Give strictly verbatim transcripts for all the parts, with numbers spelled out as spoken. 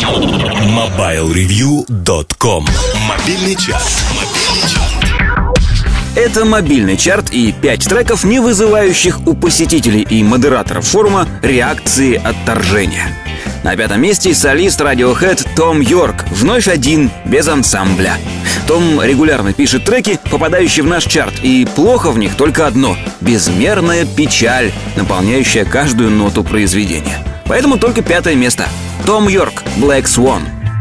мобайл ревью точка ком. Мобильный час. Это мобильный чарт и пять треков, не вызывающих у посетителей и модераторов форума реакции отторжения. На пятом месте солист Radiohead Том Йорк, вновь один, без ансамбля. Том регулярно пишет треки, попадающие в наш чарт, и плохо в них только одно — безмерная печаль, наполняющая каждую ноту произведения. Поэтому только пятое место. Том Йорк, Black Swan.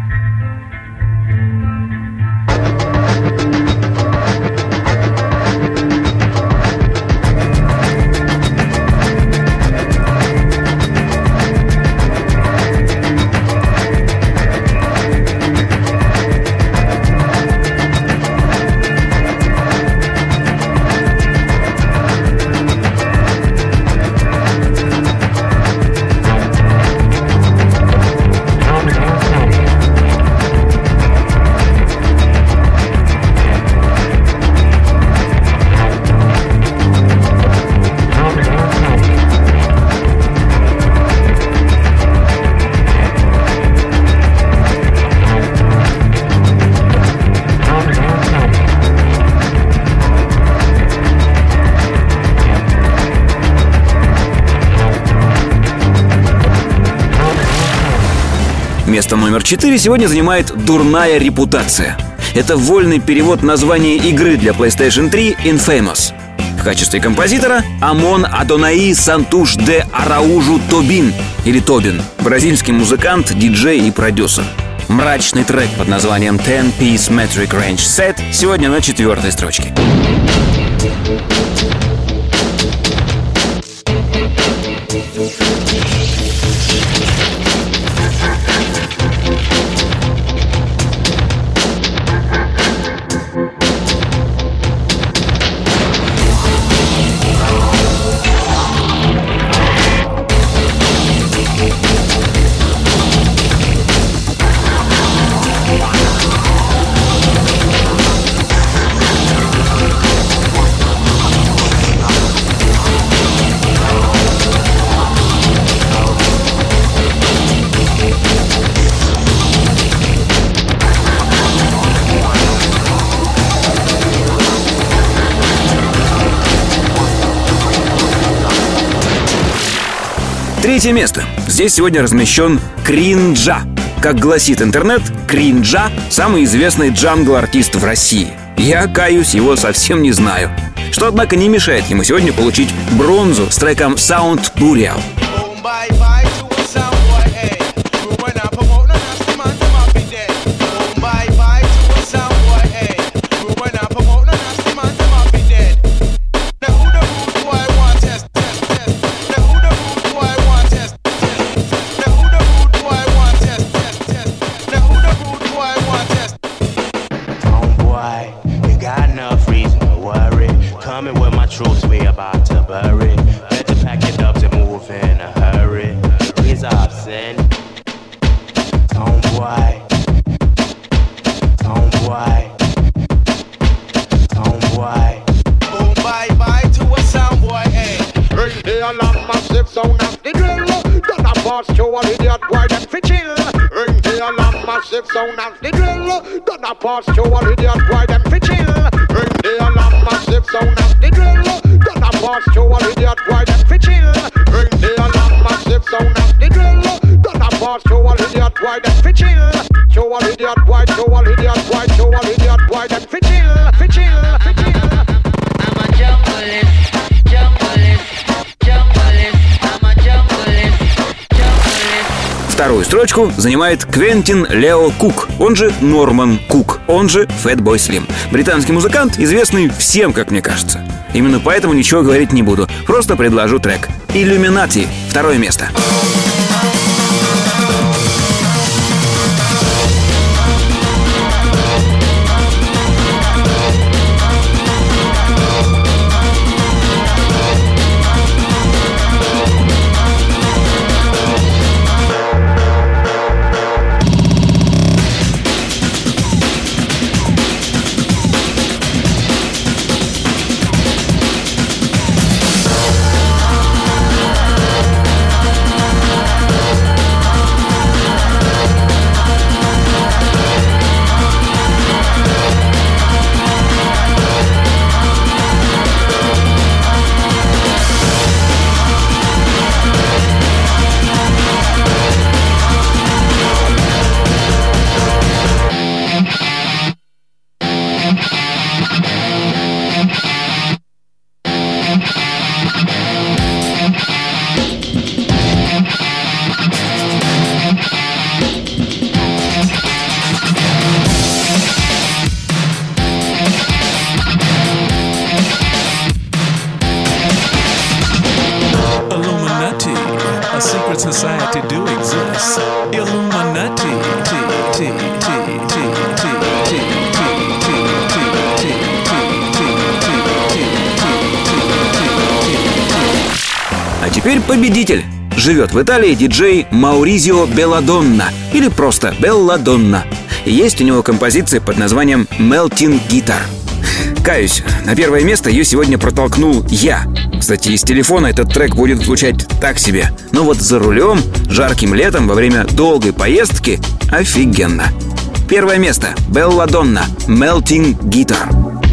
Место номер четыре сегодня занимает «Дурная репутация». Это вольный перевод названия игры для PlayStation три Infamous. В качестве композитора Амон Адонаи Сантуш де Араужу Тобин, или Тобин, бразильский музыкант, диджей и продюсер. Мрачный трек под названием ten piece Metric Range Set сегодня на четвертой строчке. Третье место. Здесь сегодня размещен Кринджа. Как гласит интернет, Кринджа — самый известный джангл-артист в России. Я, каюсь, его совсем не знаю. Что, однако, не мешает ему сегодня получить бронзу с треком Sound Burial. Coming with my troops, we about to bury. Better pack it up to move in a hurry. He's absent. Tomboy. Tomboy. Tomboy. Boom, bye, bye to a soundboy, eh? Ring the alarm, massive sound of the drill. Gonna pass to an idiot boy, them fi chill. Ring the alarm, massive sound of the drill. Gonna pass to an idiot boy, them fi chill. Ring the alarm, massive sound of the drill. Gonna pass to an idiot boy, them fi chill. Ring the alarm, massive sound of the drill. Gonna pass to an idiot boy, them fi chill. To an idiot boy, to an idiot boy, to an idiot boy, them fi chill, fi chill, fi chill. I'm a junglist, junglist, junglist. I'm a junglist, junglist. Вторую строчку занимает Квентин Лео Кук, он же Норман Кук, он же Fatboy Slim. Британский музыкант, известный всем, как мне кажется. Именно поэтому ничего говорить не буду, просто предложу трек. Illuminati, второе место. теперь победитель. Живет в Италии диджей Мауризио Белладонна, или просто Белладонна. И есть у него композиция под названием «Melting Guitar». Каюсь, на первое место ее сегодня протолкнул я. Кстати, из телефона этот трек будет звучать так себе. Но вот за рулем, жарким летом, во время долгой поездки — офигенно. Первое место. Белладонна. «Melting Guitar».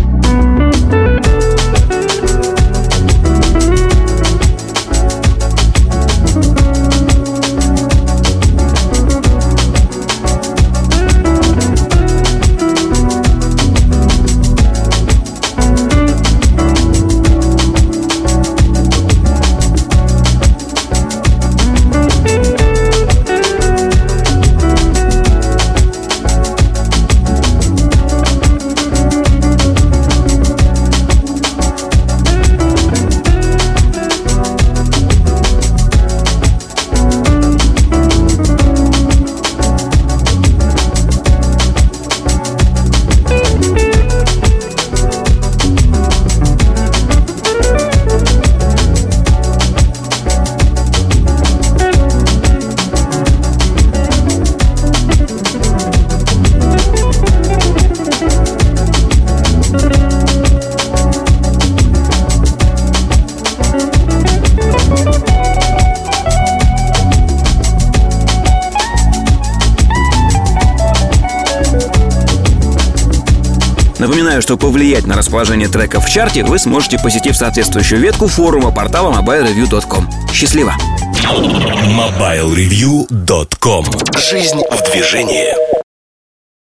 Напоминаю, что повлиять на расположение треков в чарте вы сможете, посетив соответствующую ветку форума портала мобайл ревью точка ком. Счастливо! мобайл ревью точка ком. Жизнь в движении.